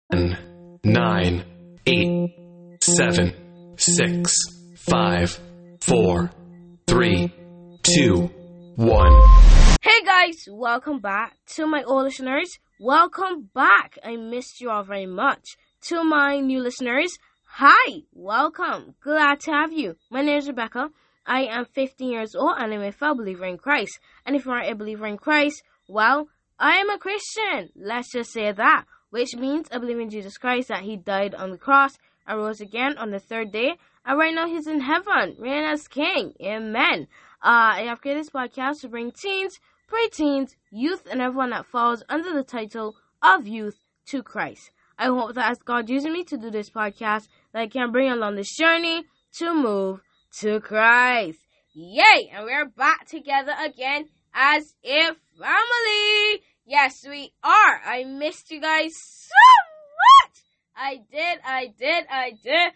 10, 9, 8, 7, 6, 5, 4, 3, 2, 1. Hey guys, welcome back to my old listeners. Welcome back. I missed you all very much. To my new listeners, hi, welcome. Glad to have you. My name is Rebecca. I am 15 years old and I'm a fellow believer in Christ. And if you aren't a believer in Christ, well, I am a Christian. Let's just say that. Which means I believe in Jesus Christ, that he died on the cross and rose again on the third day. And right now he's in heaven, reigning as king. Amen. I have created this podcast to bring teens, preteens, youth, and everyone that falls under the title of youth to Christ. I hope that as God uses me to do this podcast, that I can bring along this journey to move to Christ. Yay! And we're back together again as a family. Yes, we are. I missed you guys so much. I did.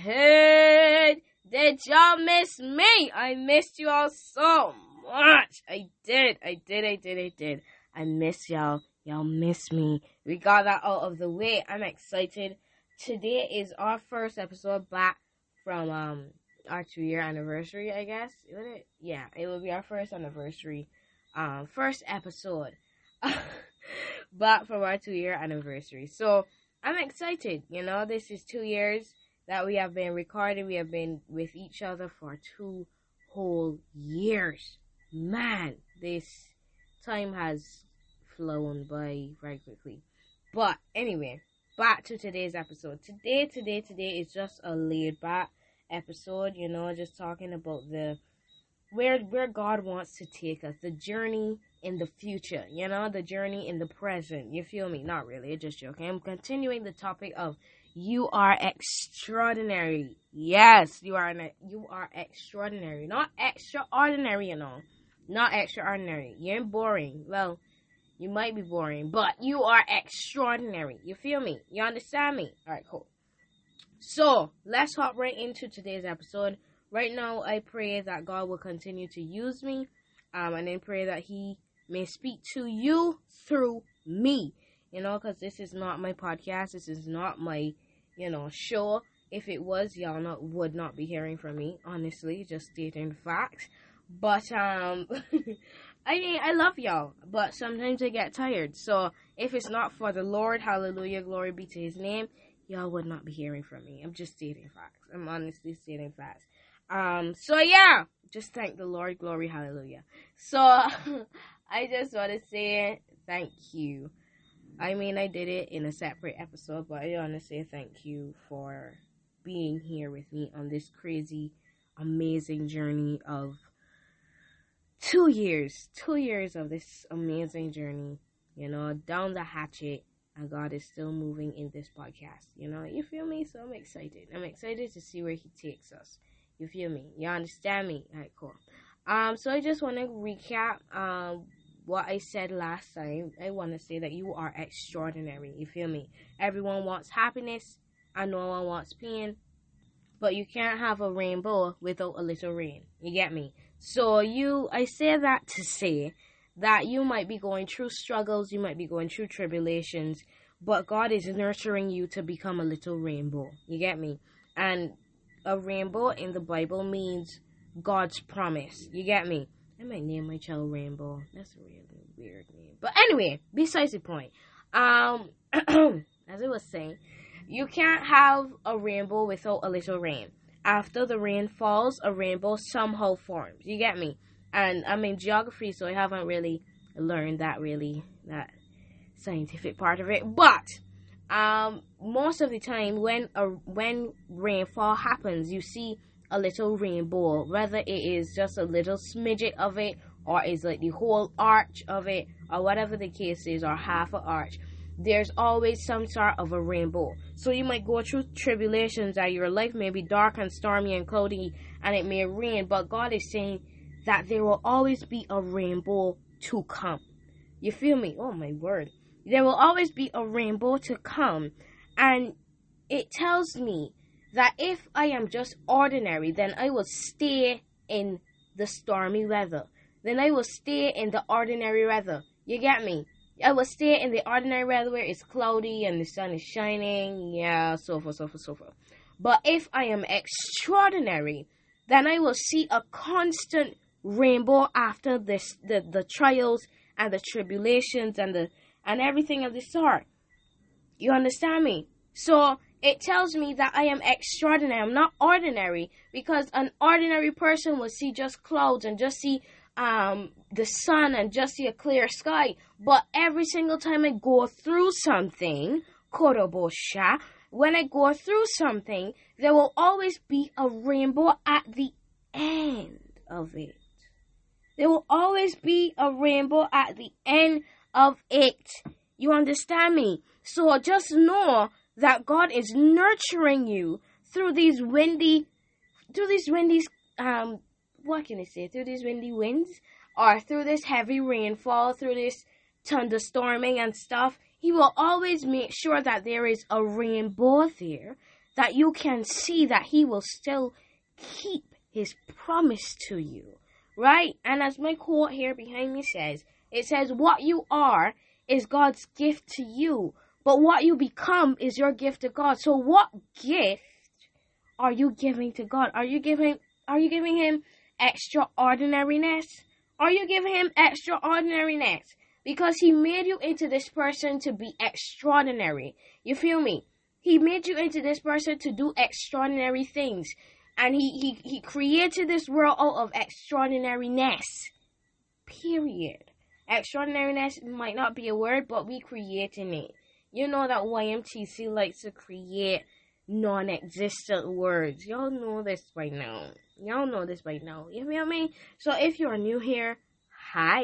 Hey, did y'all miss me? I missed you all so much. I did. I miss y'all. Y'all miss me. We got that out of the way. I'm excited. Today is our first episode back from our 2-year anniversary, I guess. Would it? Yeah, it will be our first anniversary. First episode back from our 2-year anniversary. So I'm excited. You know, this is 2 years that we have been recording. We have been with each other for 2 whole years. Man, this time has flown by very quickly. But anyway, back to today's episode. Today is just a laid back episode, you know, just talking about where God wants to take us, the journey in the future, you know, the journey in the present. You feel me? Not really, just joking. I'm continuing the topic of you are extraordinary. Yes, you are extraordinary. Not extraordinary, you know. Not extraordinary. You ain't boring. Well, you might be boring, but you are extraordinary. You feel me? You understand me? Alright, cool. So, let's hop right into today's episode. Right now, I pray that God will continue to use me, and then pray that he may speak to you through me, you know, because this is not my podcast, this is not my, you know, show. If it was, y'all would not be hearing from me, honestly, just stating facts. But, I love y'all, but sometimes I get tired, so if it's not for the Lord, hallelujah, glory be to his name, y'all would not be hearing from me. I'm just stating facts. I'm honestly stating facts. So yeah, just thank the Lord, glory, hallelujah. So, I just want to say thank you. I mean, I did it in a separate episode, but I want to say thank you for being here with me on this crazy, amazing journey of 2 years. 2 years of this amazing journey, you know, down the hatchet, and God is still moving in this podcast, you know, you feel me? So I'm excited. I'm excited to see where he takes us. You feel me? You understand me? Alright, cool. So I just want to recap what I said last time. I want to say that you are extraordinary. You feel me? Everyone wants happiness and no one wants pain, but you can't have a rainbow without a little rain. You get me? So I say that to say that you might be going through struggles, you might be going through tribulations, but God is nurturing you to become a little rainbow. You get me? And a rainbow in the Bible means God's promise. You get me? I might name my child Rainbow. That's a really weird name. But anyway, besides the point. As I was saying, you can't have a rainbow without a little rain. After the rain falls, a rainbow somehow forms. You get me? And I'm in geography, so I haven't really learned that scientific part of it. But most of the time when rainfall happens, you see a little rainbow, whether it is just a little smidget of it, or is like the whole arch of it, or whatever the case is, or half an arch. There's always some sort of a rainbow. So you might go through tribulations, that your life may be dark and stormy and cloudy, and it may rain, but God is saying that there will always be a rainbow to come. You feel me? Oh my word. There will always be a rainbow to come. And it tells me that if I am just ordinary, then I will stay in the stormy weather. Then I will stay in the ordinary weather. You get me? I will stay in the ordinary weather where it's cloudy and the sun is shining. Yeah, so forth, so forth, so forth. But if I am extraordinary, then I will see a constant rainbow after this, the trials and the tribulations and everything of the sort. You understand me? So it tells me that I am extraordinary. I'm not ordinary, because an ordinary person will see just clouds and just see the sun and just see a clear sky. But every single time I go through something, Korobosha, when I go through something, there will always be a rainbow at the end of it. There will always be a rainbow at the end of it. You understand me? So just know that God is nurturing you through these windy, what can I say? Through these windy winds, or through this heavy rainfall, through this thunderstorming and stuff. He will always make sure that there is a rainbow there, that you can see that he will still keep his promise to you, right? And as my quote here behind me says, it says, what you are is God's gift to you, but what you become is your gift to God. So what gift are you giving to God? Are you giving him extraordinariness? Are you giving him extraordinariness? Because he made you into this person to be extraordinary. You feel me? He made you into this person to do extraordinary things. And he created this world out of extraordinariness. Period. Extraordinariness might not be a word, but we creating it. You know that YMTC likes to create non-existent words. Y'all know this by now. You feel me? So if you're new here, hi.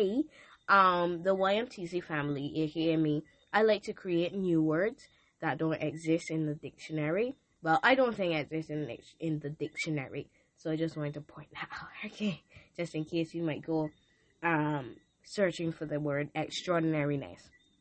The YMTC family, aka me, I like to create new words that don't exist in the dictionary. Well, I don't think it exists in the dictionary. So I just wanted to point that out, okay? Just in case you might go searching for the word extraordinariness.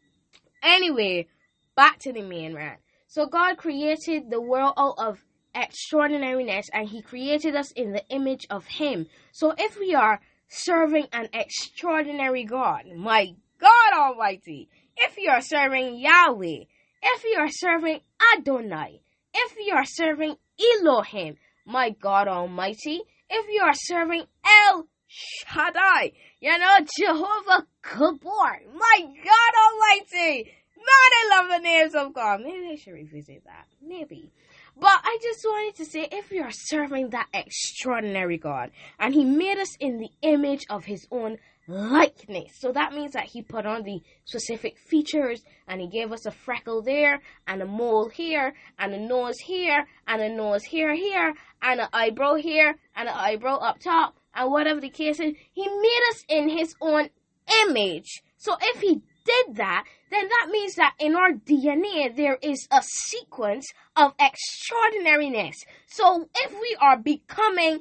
Anyway, back to the main rant. So God created the world out of extraordinariness, and he created us in the image of him. So if we are serving an extraordinary God, my God Almighty, if you are serving Yahweh, if you are serving Adonai, if you are serving Elohim, my God Almighty, if you are serving El Shaddai, Jehovah Gabor, my God Almighty, man, I love the names of God. Maybe I should revisit that, maybe. But I just wanted to say, if you are serving that extraordinary God, and he made us in the image of his own likeness, so that means that he put on the specific features, and he gave us a freckle there, and a mole here, and a nose here, and a nose here, and an eyebrow here, and an eyebrow up top, and whatever the case is, he made us in his own image. So if he did that, then that means that in our DNA there is a sequence of extraordinariness. So if we are becoming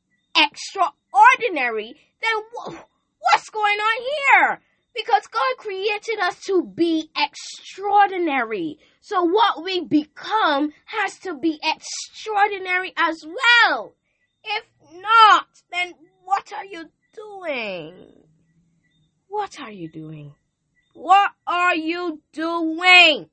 extraordinary, then what's going on here? Because God created us to be extraordinary. So what we become has to be extraordinary as well. If not, then what are you doing? What are you doing? What are you doing?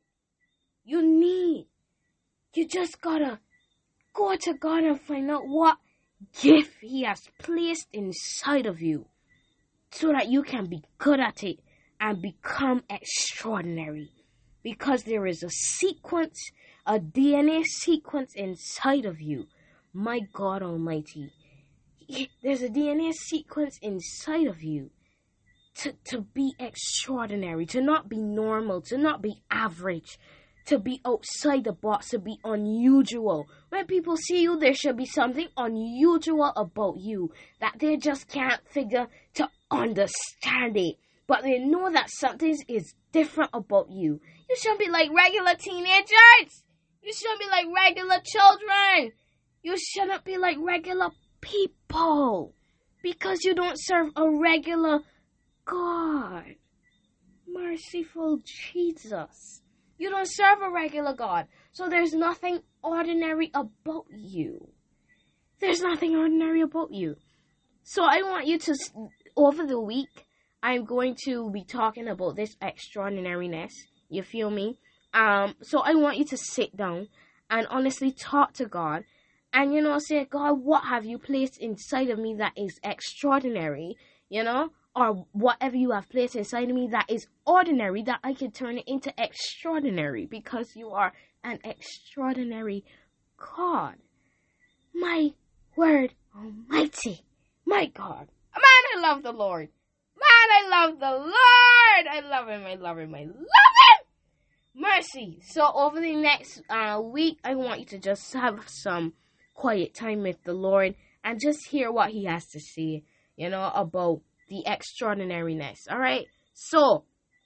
You just gotta go to God and find out what gift he has placed inside of you, so that you can be good at it and become extraordinary. Because there is a sequence, a DNA sequence inside of you. My God Almighty. There's a DNA sequence inside of you to be extraordinary, to not be normal, to not be average, to be outside the box, to be unusual. When people see you, there should be something unusual about you that they just can't figure to understand it. But they know that something is different about you. You shouldn't be like regular teenagers. You shouldn't be like regular children. You shouldn't be like regular people. Because you don't serve a regular God. Merciful Jesus. You don't serve a regular God. So there's nothing ordinary about you. There's nothing ordinary about you. So I want you to, over the week, I'm going to be talking about this extraordinariness. You feel me? So I want you to sit down and honestly talk to God and, say, God, what have you placed inside of me that is extraordinary, or whatever you have placed inside of me that is ordinary, that I can turn it into extraordinary, because you are an extraordinary God. My word almighty. My God. Man, I love the Lord. Man, I love the Lord. I love him. I love him. I love him. Mercy. So over the next week, I want you to just have some quiet time with the Lord and just hear what he has to say, about the extraordinariness. All right. So.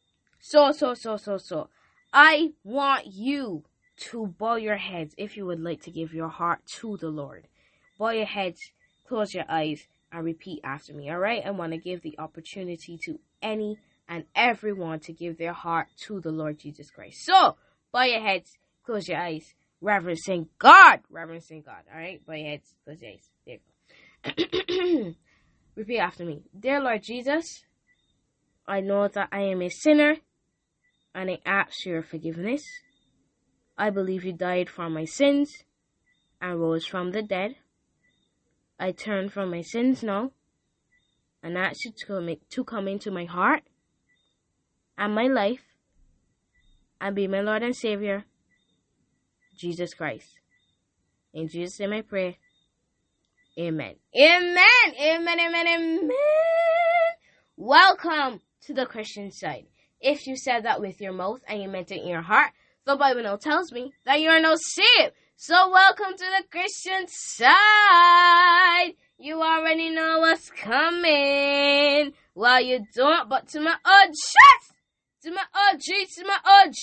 I want you to bow your heads if you would like to give your heart to the Lord. Bow your heads, close your eyes, and repeat after me. All right. I want to give the opportunity to any and everyone to give their heart to the Lord Jesus Christ. So, bow your heads, close your eyes, reverencing God. Reverencing God. All right? Bow your heads, close your eyes. There you go. Repeat after me. Dear Lord Jesus, I know that I am a sinner, and I ask your forgiveness. I believe you died for my sins and rose from the dead. I turn from my sins now and ask you to come into my heart and my life and be my Lord and Savior, Jesus Christ. In Jesus' name I pray. Amen. Amen. Amen. Amen. Amen. Welcome to the Christian side. If you said that with your mouth and you meant it in your heart, the Bible now tells me that you are now saved. So welcome to the Christian side. You already know what's coming. Well, you don't, but to my OGs, to my OGs, to my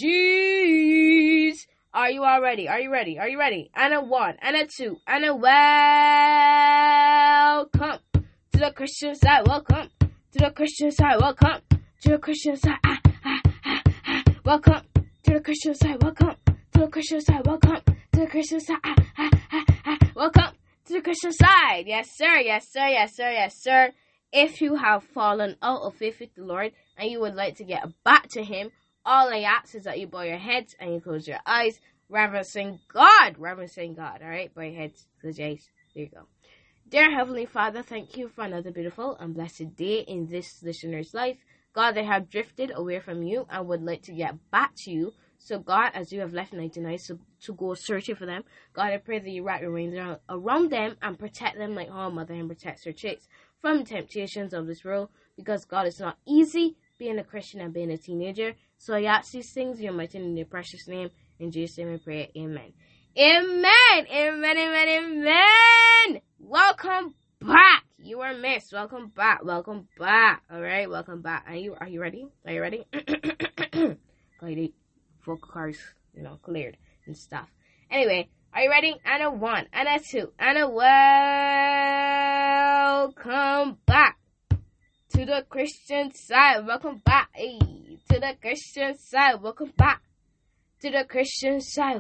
OGs. Are you all ready? Are you ready? Are you ready? And a 1, and a 2, and a welcome to the Christian side. Welcome to the Christian side. Welcome to the Christian side. Welcome to the Christian side. Welcome to the Christian side. Welcome to the Christian side. Welcome to the Christian side. Yes, sir. Yes, sir. Yes, sir. Yes, sir. If you have fallen out of faith with the Lord and you would like to get back to him, all I ask is that you bow your heads and you close your eyes, reverencing God. Reverencing God. All right? Bow your heads, close your eyes. There you go. Dear Heavenly Father, thank you for another beautiful and blessed day in this listener's life. God, they have drifted away from you and would like to get back to you. So, God, as you have left 99 to go searching for them, God, I pray that you wrap your wings around them and protect them like how a mother hen protects her chicks from the temptations of this world. Because, God, it's not easy being a Christian and being a teenager. So I ask these things in your mighty and in your precious name. In Jesus' name I pray. Amen. Amen. Amen. Amen. Amen. Welcome back. You are missed. Welcome back. Welcome back. All right. Welcome back. Are you ready? Are you ready? Vocal cords, cleared and stuff. Anyway, are you ready? And a 1, and a 2, and a welcome back to the Christian side. Welcome back, hey, to the Christian side. Welcome back to the Christian side.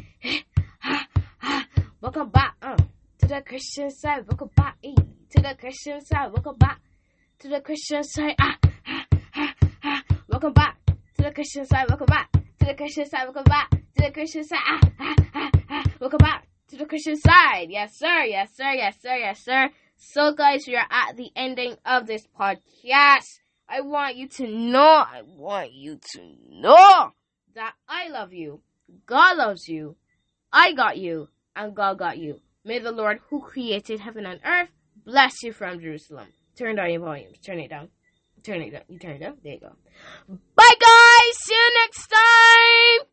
Welcome back, to the Christian side. Welcome back, hey, to the Christian side. Welcome back to the Christian side. Welcome back to the Christian side. Welcome back to the Christian side. Welcome back to the Christian side. Welcome back to the Christian side. Yes, sir. Yes, sir. Yes, sir. Yes, sir. So, guys, we are at the ending of this podcast. I want you to know that I love you. God loves you. I got you. And God got you. May the Lord who created heaven and earth bless you from Jerusalem. Turn down your volumes. Turn it down. Turn it down. You turn it down. There you go. Bye, guys. See you next time.